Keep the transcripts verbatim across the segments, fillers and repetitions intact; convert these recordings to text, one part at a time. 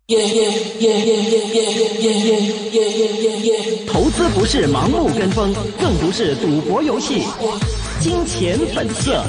投資不是盲目跟風，更不是賭博遊戲。金錢本色。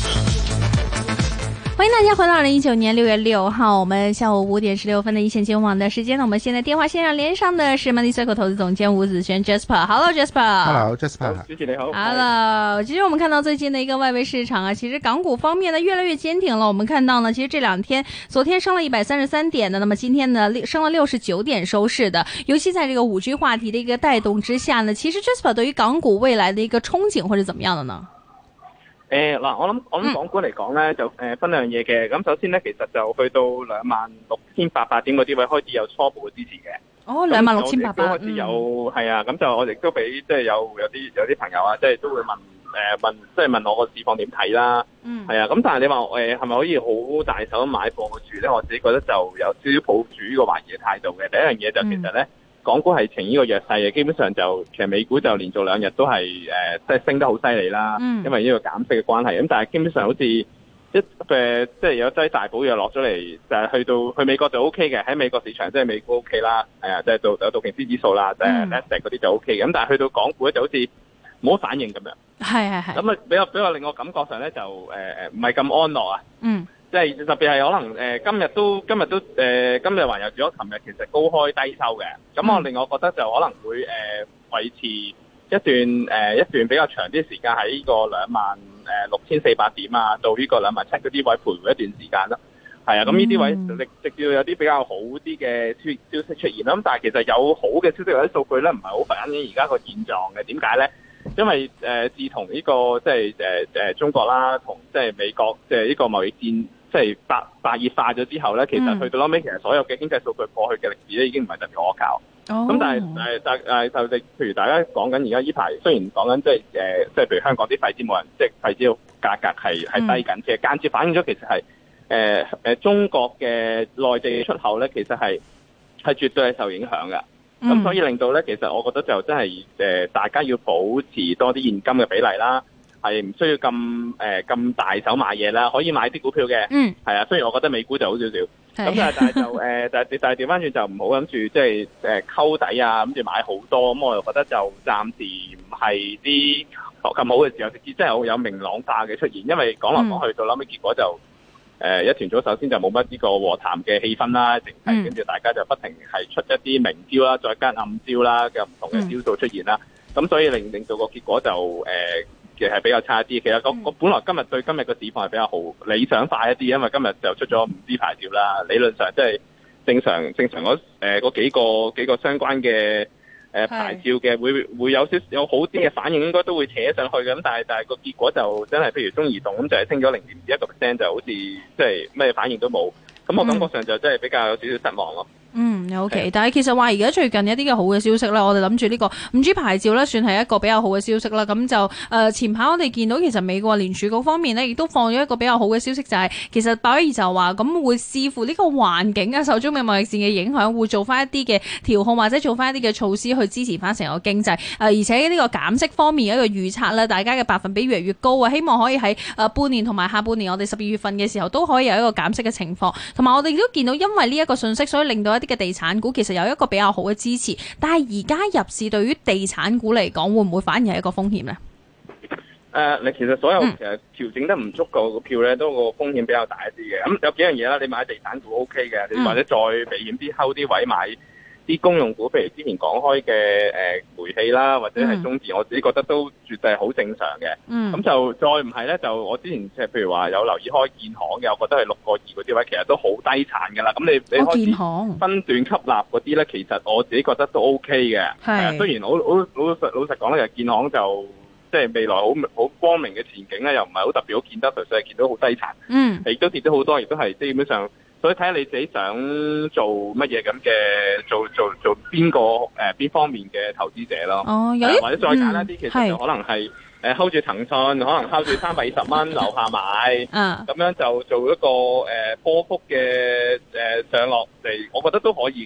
歡迎大家回到二零一九年六月六號，我們下午五點十六分的一線金融網的時間呢。我們現在電話線上連上的是 Money Circle 投資總監吳子軒 Jasper。Hello Jasper。 Hello Jasper。 主持你好。 Hello。其實我們看到最近的一個外圍市場啊，其實港股方面呢越來越堅挺了。我們看到呢，其實這兩天，昨天升了一百三十三點的，那麼今天呢升了六十九點收市的。尤其在這個五 G 話題的一個帶動之下呢，其實 Jasper 對於港股未來的一個憧憬或者怎麼樣的呢？ 誒嗱、呃，我諗我諗港股嚟講咧，就誒、呃、分兩樣嘢嘅。咁首先咧，其實就去到兩萬六千八百點嗰啲位開始有初步嘅支持嘅。 哦，兩萬六千八百開始有係、嗯、啊，咁就我亦都俾即係有有啲有啲朋友啊，即係都會問誒、呃、問，即係問我個市況點睇啦。嗯。係啊，咁但係你話誒係咪可以好大手買貨住咧？我自己覺得就有少少抱住呢個懷疑嘅態度嘅。第一樣嘢就其實咧。嗯港股係呈呢個弱勢嘅，基本上就其實美股就連續兩日都係誒，即、呃、係升得好犀利啦。嗯、因為呢個減息嘅關係，咁但係基本上好似一誒，即係有劑大補藥落咗嚟，就係、是、去到去美國就 O K 嘅，喺美國市場即係美股 O K 啦，係啊，即係到有道瓊斯指數啦，即係 Nasdaq 嗰啲就 O K 嘅。咁但係去到港股咧就好似冇乜反應咁樣。係係係。咁啊，比較比較令我感覺上咧就誒誒唔係咁安樂啊。嗯。即係特別係可能誒、呃、今日都今日都誒、呃、今日還有住咗，琴日其實高開低收嘅，咁我令我覺得就可能會誒、呃、維持一段誒、呃、一段比較長啲時間喺呢個兩萬誒六千四百點啊，到呢個兩萬七嗰啲位徘徊一段時間啦。係啊，咁呢啲位直直至有啲比較好啲嘅消消息出現啦。咁但係其實有好嘅消息或者數據咧，唔係好反映而家個現狀嘅。點解咧？因為誒、呃、自從呢、這個即係誒誒中國啦，同即係美國即係呢個貿易戰。即係白白熱化咗之後咧，其實去到後尾，其實所有嘅經濟數據過去嘅歷史咧，已經唔係特別可靠。咁、oh. 但係誒但誒就你，譬如大家講緊而家呢排，雖然講緊即係誒，即係譬如香港啲廢紙冇人，即係廢紙價格係係低緊，其實間接反映咗其實係誒誒中國嘅內地出口咧，其實係係絕對係受影響嘅。咁、mm. 所以令到咧，其實我覺得就真係誒，大家要保持多啲現金嘅比例啦。係唔需要咁誒咁大手買嘢啦，可以買啲股票嘅。嗯，係啊，雖然我覺得美股就好少少，咁但係但係就誒、呃，但係但係調翻轉就唔好諗住即係誒溝底啊，諗住買好多，咁我又覺得就暫時唔係啲咁好嘅時候，直至真係有明朗化嘅出現，因為講來講去到後尾結果就誒、呃、一團組首先就冇乜呢個和談嘅氣氛啦，整體跟住大家就不停係出一啲明招啦，再加暗招啦嘅唔同嘅招數出現啦，咁、嗯、所以令令到個結果就誒。呃嘅係比較差啲，其實個個本來今日對今日個市況係比較好理想化一啲，因為今日就出咗五 G 牌照啦，理論上即係正常正常嗰誒嗰幾個幾個相關嘅誒、呃、牌照嘅會會有少有好啲嘅反應，應該都會扯上去嘅，咁但係但係個結果就真係譬如中移動咁就係升咗零點二一個 percent，就好似即係咩反應都冇，咁我感覺上就真係比較有少少失望咯。 嗯 ，OK，但係其實話而家最近一啲嘅好嘅消息咧，我哋諗住呢個五 G 牌照咧，算係一個比較好嘅消息啦。咁就誒、呃、前排我哋見到其實美國聯儲局方面呢，亦都放咗一個比較好嘅消息，就係、是、其實鮑威爾就話咁會視乎呢個環境啊，受中美貿易戰嘅影響，會做翻一啲嘅調控或者做翻一啲嘅措施去支持翻成個經濟。誒、呃、而且呢個減息方面嘅一個預測咧，大家嘅百分比越嚟越高啊，希望可以喺誒、呃、半年同埋下半年我哋十二月份嘅時候都可以有一個減息嘅情況。同埋我哋亦都見到，因為呢一個信息，所以令到一啲嘅地產股其實有一個比較好嘅支持，但係而家入市對於地產股嚟講，會唔會反而係一個風險呢？ 誒、呃，你其實所有其實調整得唔足夠嘅票咧，都個風險比較大一啲嘅。咁、嗯、有幾樣嘢啦，你買地產股 O K 嘅，你或者再避險啲，睺啲位買啲公用股，譬如之前講開嘅誒煤氣啦，或者係中電，嗯、我自己覺得都絕對係好正常嘅。咁、嗯、就再唔係咧，就我之前即係譬如話有留意開建行嘅，我覺得係六個二嗰啲位，其實都好低殘㗎啦。咁你你開始分段吸納嗰啲咧，其實我自己覺得都 O K 嘅。係，雖然好好老實老實講咧，其實建行就即係未來好好光明嘅前景咧，又唔係好特別好見得，純粹係見到好低殘。嗯，亦都跌咗好多，亦都係基本上。所以睇下你自己想做乜嘢咁嘅，做做做邊個誒邊方面嘅投資者咯。哦，有、呃、或者再簡單啲，嗯、其實就可能係誒 hold 住騰訊，可能 hold 住三百二十蚊樓下買，嗯，咁樣就做一個誒波幅嘅誒上落嚟，我覺得都可以嘅。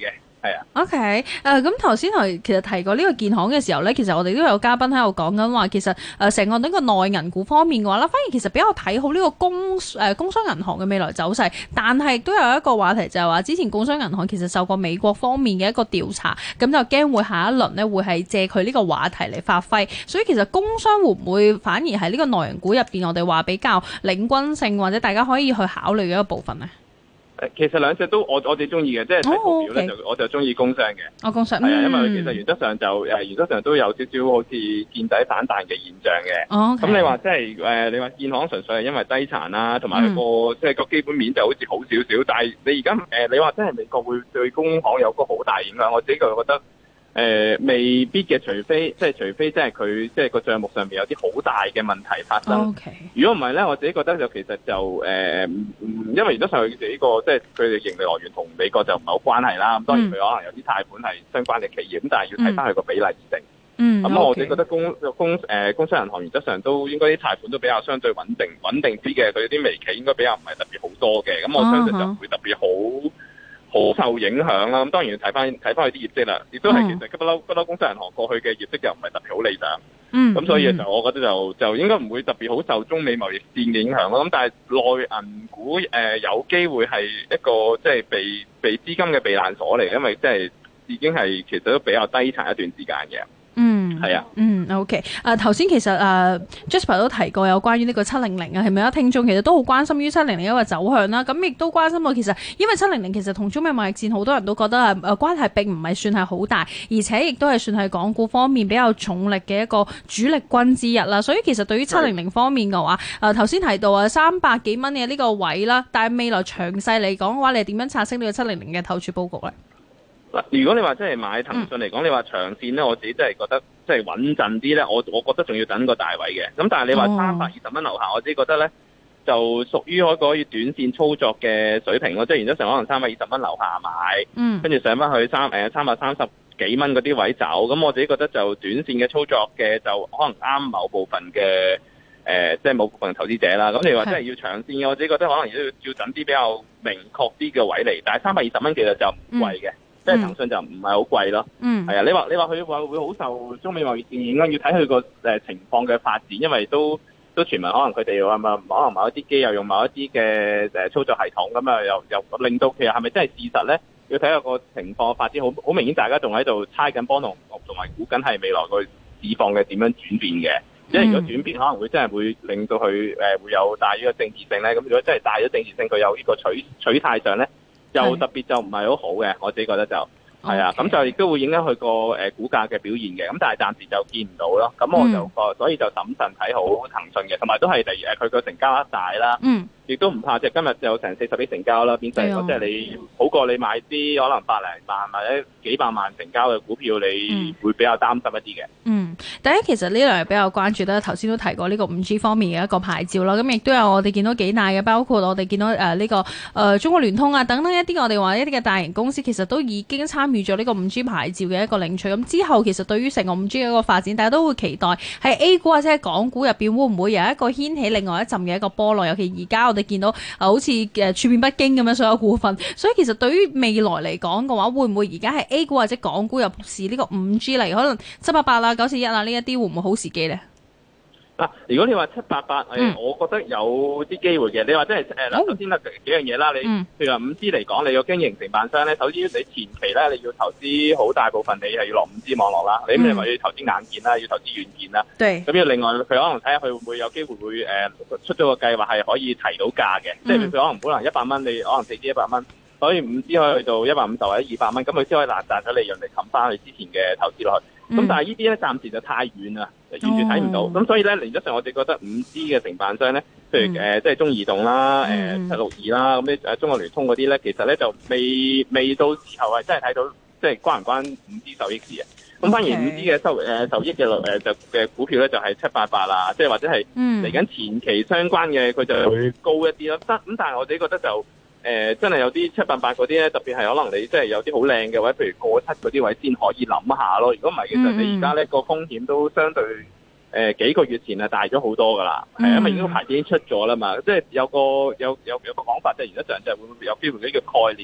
係啊。 OK，誒咁頭先係其實提過呢個建行嘅時候咧，其實我哋都有嘉賓喺度講緊話，其實誒成個呢個內銀股方面嘅話咧，反而其實比較睇好呢個工誒、呃、工商銀行嘅未來走勢，但係亦都有一個話題就係話，之前工商銀行其實受過美國方面嘅一個調查，咁就驚會下一輪呢會係借佢呢個話題嚟發揮，所以其實工商會唔會反而係呢個內銀股入邊，我哋話比較領軍性或者大家可以去考慮嘅一個部分呢？ 誒，其實兩隻都我我哋中意嘅，即係睇圖表咧就我就中意工商嘅。 哦，工商係啊，因為嗯其實原則上就誒原則上都有少少好似見底反彈嘅現象嘅。 哦， 咁你話即係誒，你話建行純粹係因為低殘啦，同埋佢個即係個基本面就好似好少少，但係你而家誒你話真係美國會對工行有個好大影響，我自己就覺得。誒、呃、未必嘅，除非即係除非即係佢即係個帳目上面有啲好大嘅問題發生。 Okay. 如果唔係咧，我自己覺得就其實就誒、呃，因為原則上佢哋呢個即係佢哋盈利來源同美國就唔係好關係啦。咁當然佢可能有啲貸款係相關嘅企業，咁但係要睇翻佢個比例而定。 嗯， 咁、嗯、我自己覺得工工誒、呃、工商銀行原則上都應該啲貸款都比較相對穩定穩定啲嘅，佢啲微企應該比較唔係特別好多嘅。咁我相信就唔會特別好。好受影響啦，咁當然要睇翻睇翻佢啲業績啦，亦都係其實不嬲不嬲工商銀行過去嘅業績又唔係特別好理想，嗯，咁所以就我覺得就就應該唔會特別好受中美貿易戰嘅影響咯。咁但係內銀股誒、呃、有機會係一個即係被被資金嘅避難所嚟，因為即係已經係其實都比較低殘一段時間嘅。嗯，係啊， 嗯 ，OK，誒頭先其實誒、uh, Jasper 都提過有關於呢個七零零啊，係咪啊？聽眾其實都好關心於七零零一個走向啦，咁亦都關心到其實因為七零零其實同中美貿易戰好多人都覺得誒誒關係並唔係算係好大，而且亦都係算係港股方面比較重力嘅一個主力軍之一啦。所以其實對於七零零方面嘅話，誒頭先提到啊三百幾蚊嘅呢個位啦，但係未來詳細嚟講嘅話，你係點樣拆析呢個七零零嘅投注佈局咧？ 如果你話真係買騰訊嚟講，嗯、你話長線咧，我自己真係覺得即係穩陣啲咧。我我覺得仲要等個大位嘅。咁但係你話三百二十蚊樓下，我自己覺得咧就屬於可可以短線操作嘅水平咯。即係原則上可能三百二十蚊樓下買，嗯，跟住上翻去三誒三百三十幾蚊嗰啲位走。咁我自己覺得就短線嘅操作嘅就可能啱某部分嘅誒、呃，即係某部分投資者啦。咁你話真係要長線嘅，我自己覺得可能要要等啲比較明確啲嘅位嚟。但係三百二十蚊其實就唔貴嘅。嗯即係騰訊就唔係好貴咯，嗯，係啊，你話你話佢話會好受中美貿易戰影響，要睇佢個誒情況嘅發展，因為都都傳聞可能佢哋話咪可能某一啲機又用某一啲嘅誒操作系統咁啊，又又令到其實係咪真係事實咧？要睇下個情況發展，好好明顯，大家仲喺度猜緊波動，同埋估緊係未來個市況嘅點樣轉變嘅。即係如果轉變可能會真係會令到佢誒會有大於個政治性咧。咁如果真係大咗政治性，佢有呢個取取態上咧。就特別就唔係好好嘅，我自己覺得就係啊，咁 Okay. 就亦都會影響佢個誒股價嘅表現嘅，咁但係暫時就見唔到咯。咁我就個、嗯、所以就審慎睇好騰訊嘅，同埋都係例如誒佢個成交額大啦，亦、嗯、都唔怕即係今日就有成四十億成交啦，變成即係你好過你買啲可能百零萬或者幾百萬成交嘅股票，你會比較擔心一啲嘅。嗯， 第一其實呢兩日比較關注咧，頭先都提過呢個五 G 方面嘅一個牌照啦，咁亦都有我哋見到幾大嘅，包括我哋見到誒呢、呃這個誒、呃、中國聯通啊等等一啲我哋話一啲嘅大型公司，其實都已經參與咗呢個五 G 牌照嘅一個領取。咁之後其實對於成個五 G 嘅一個發展，大家都會期待喺 A 股或者係港股入邊會唔會有一個掀起另外一陣嘅一個波浪？尤其而家我哋見到誒、呃、好似誒處變不驚咁樣所有股份，所以其實對於未來嚟講嘅話，會唔會而家係 A 股或者港股入市呢個五 G 嚟，可能七八八啊、九四一啊呢一啲會唔會好時機咧？ 嗱，如果你話七八八，誒，我覺得有啲機會嘅。你話即係誒，嗱，首先咧幾樣嘢啦，你譬如話五 G 嚟講，你個經營承辦商咧，首先你前期咧你要投資好大部分，你係要落五 G 網絡啦。你咁你話要投資硬件啦，要投資軟件啦。對。咁要另外佢可能睇下佢會唔會有機會會誒出咗個計劃係可以提到價嘅，即係佢可能本來一百蚊，你可能四 G 一百蚊，所以五 G 可以去到一百五十或者二百蚊，咁佢先可以賺賺咗利潤嚟冚翻佢之前嘅投資落去。咁、嗯、但係呢啲咧暫時就太遠啦，完全睇唔到。咁、哦、所以咧，原則上我哋覺得五 G 嘅承辦商咧，譬如誒、嗯呃、即係中移動啦、誒七六二啦，咁啲誒中國聯通嗰啲咧，其實咧就未未到時候係真係睇到即係關唔關五 G 受益事啊？咁 Okay. 反而五 G 嘅收誒、呃、受益嘅誒就嘅股票咧就係七八八啦，即係或者係嚟緊前期相關嘅佢就會高一啲咯。得咁、嗯，但係我自己覺得就。誒、呃、真係有啲七八八嗰啲咧，特別係可能你即係有啲好靚嘅位，譬如過七嗰啲位先可以諗下咯。如果唔係，其實你而家咧個風險都相對誒、呃、幾個月前係大咗好多噶啦。係、嗯、因為已經個牌子已經出咗啦嘛。即係有個有有有個講法，即係原則上就係會唔會有機會呢個概念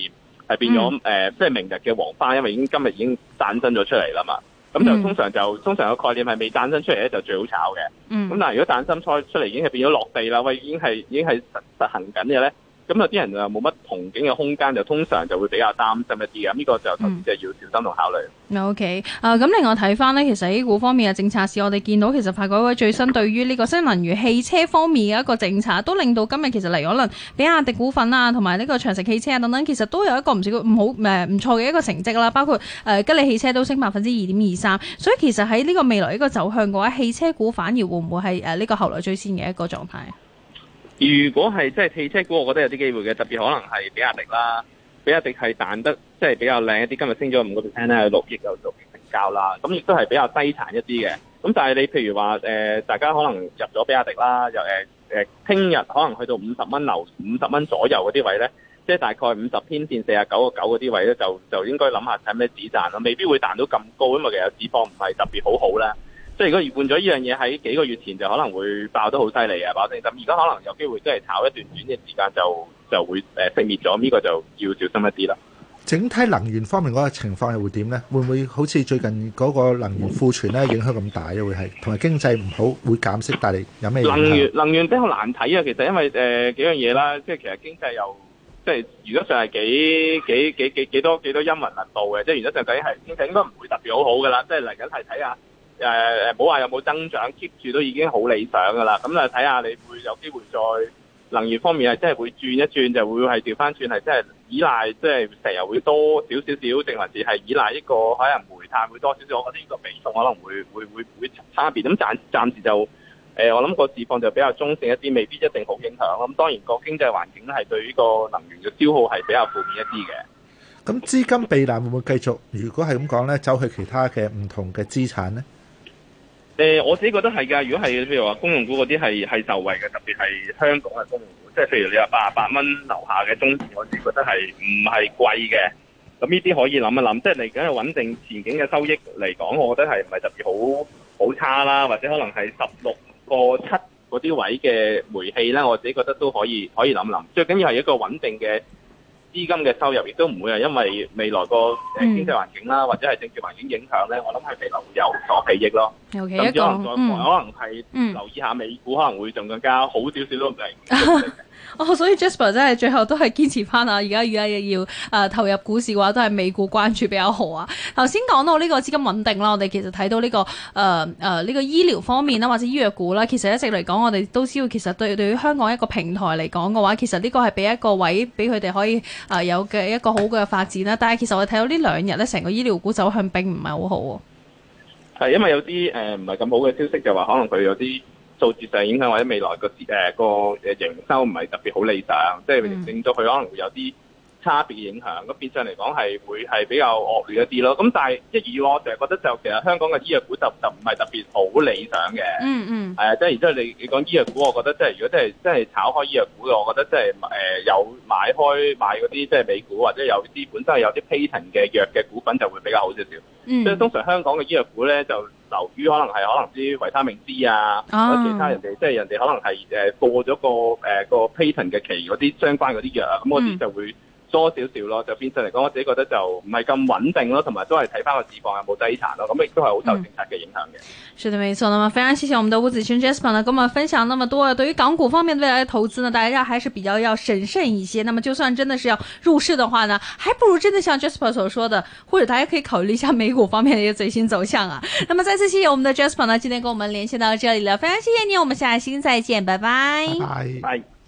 係變咗誒，即係明日嘅黃花，因為已經今日已經誕生咗出嚟啦嘛。咁就通常就通常個概念係未誕生出嚟咧，就最好炒嘅。咁、嗯、但係如果誕生出出嚟已經係變咗落地啦，喂，已經係已經係實實行緊嘅咧。咁有啲人就冇乜憧憬嘅空間，就通常就會比較擔心一啲嘅。咁呢個就投資者要小心同考慮。 嗯、o、okay. K，啊咁另外睇翻呢，其實 A 股方面嘅政策市，我哋見到其實發改委最新對於呢個新能源汽車方面嘅一個政策，都令到今日其實嚟可能比亞迪股份啊，同埋呢個長城汽車啊等等，其實都有一個唔少唔好誒唔錯嘅一個成績啦。包括誒、呃、吉利汽車都升百分之二點二三，所以其實喺呢個未來一個走向嘅話，汽車股反而會唔會係誒呢個後來追先嘅一個狀態？ 如果係即係汽車股，我覺得有啲機會嘅，特別可能係比亞迪啦，比亞迪係彈得即係比較靚一啲，今日升咗五個 percent 咧，六億有六億成交啦，咁亦都係比較低殘一啲嘅。咁但係你譬如話誒、呃，大家可能入咗比亞迪啦，又誒誒，聽、呃、日可能去到五十蚊樓五十蚊左右嗰啲位咧，即係大概五十天線四十九個九嗰啲位咧，就就應該諗下睇咩止賺咯，未必會彈到咁高，因為其實市況唔係特別好好啦。即係如果換咗呢樣嘢喺幾個月前就可能會爆得好犀利啊，爆定咁，而家可能有機會即係炒一段短嘅時間就就會誒熄滅咗，呢、這個就要小心一啲啦。 整體能源方面嗰個情況係會點咧？會唔會好似最近嗰個能源庫存咧影響咁大咧？會係同埋經濟唔好會減息，但係有咩影響？能源能源比較難睇啊，其實因為誒、呃、幾樣嘢啦，即係其實經濟又即係原則上係幾幾幾幾幾多幾多陰雲密布嘅，即係原則上究竟係經濟應該唔會特別好好噶啦，即係嚟緊係睇下。誒誒，冇話有冇增長 keep 住都已經好理想㗎啦。咁啊睇下你會有機會再能源方面係真係會轉一轉，就會係調翻轉係真係依賴，即係成日會多少少少，定還是係依賴一個可能煤炭會多少少。我覺得呢個比重可能會會會會差別。咁暫暫時就誒、呃，我諗個市況就比較中性一啲，未必一定好影響。咁當然個經濟環境咧係對呢個能源嘅消耗係比較負面一啲嘅。 咁資金避難會唔會繼續？如果係咁講咧，走去其他嘅唔同嘅資產咧？ 誒、呃，我自己覺得係㗎。如果係譬如話公用股嗰啲係係受惠嘅，特別係香港嘅公用股，即係譬如你話八十八蚊樓下嘅中線，我自己覺得係唔係貴嘅。咁呢啲可以諗一諗，即係嚟緊係穩定前景嘅收益嚟講，我覺得係唔係特別好好差啦，或者可能係十六個七嗰啲位嘅煤氣啦，我自己覺得都可以可以諗諗。最緊要係一個穩定嘅資金嘅收入，亦都唔會係因為未來個誒經濟環境啦，嗯、或者係政治環境影響咧，我諗係未來會有所裨益咯。甚至可能再、嗯、可能係留意下美股，可能會仲更加好少少都唔定。 哦，所以 Jasper 真係最後都係堅持翻啊！而家而家要誒、呃、投入股市嘅話，都係美股關注比較好啊。頭先講到呢個資金穩定啦，我哋其實睇到呢、這個誒誒呢個醫療方面啦，或者醫藥股啦，其實一直嚟講，我哋都知道，其實對對於香港一個平台嚟講嘅話，其實呢個係俾一個位俾佢哋可以誒、呃、有嘅一個好嘅發展啦。但係其實我哋睇到呢兩日咧，成個醫療股走向並唔係好好喎。 係因為有啲誒唔係咁好嘅消息，就話可能佢有啲數字上影響，或者未來個誒個誒營收唔係特別好理想，即係令到佢可能會有啲差別嘅影響。咁變相嚟講係會係比較惡劣一啲咯。咁但係即係以我成日覺得就其實香港嘅醫藥股就就唔係特別好理想嘅。嗯嗯。係啊，即係然之後你你講醫藥股，我覺得即係如果真係真係炒開醫藥股嘅，我覺得即係誒有買開買嗰啲即係美股或者有啲本身係有啲 patent 嘅藥嘅股份就會比較好少少。即係、嗯、通常香港嘅醫藥股咧就流於可能係可能啲維他命 C 啊，或者其他人哋即係人哋可能係誒過咗個誒、呃、個 patent 嘅期嗰啲相關嗰啲藥啊，咁嗰啲就會多少少咯，就變相嚟講，我自己覺得就唔係咁穩定咯，同埋都係睇翻個市況有冇低殘咯，咁亦都係好受政策嘅影響嘅。 是的，沒錯。那麼非常謝謝我們的吳子軒 Jasper 呢，跟我們分享那麼多。對於港股方面未來的投資呢，大家還是比較要審慎一些。那麼就算真的是要入市的話呢，還不如真的像 Jasper 所說的，或者大家可以考慮一下美股方面的一個最新走向啊。那麼再次謝謝我們的 Jasper 呢，今天跟我們連線到這裡了，非常謝謝你，我們下期再見，拜拜。 拜拜。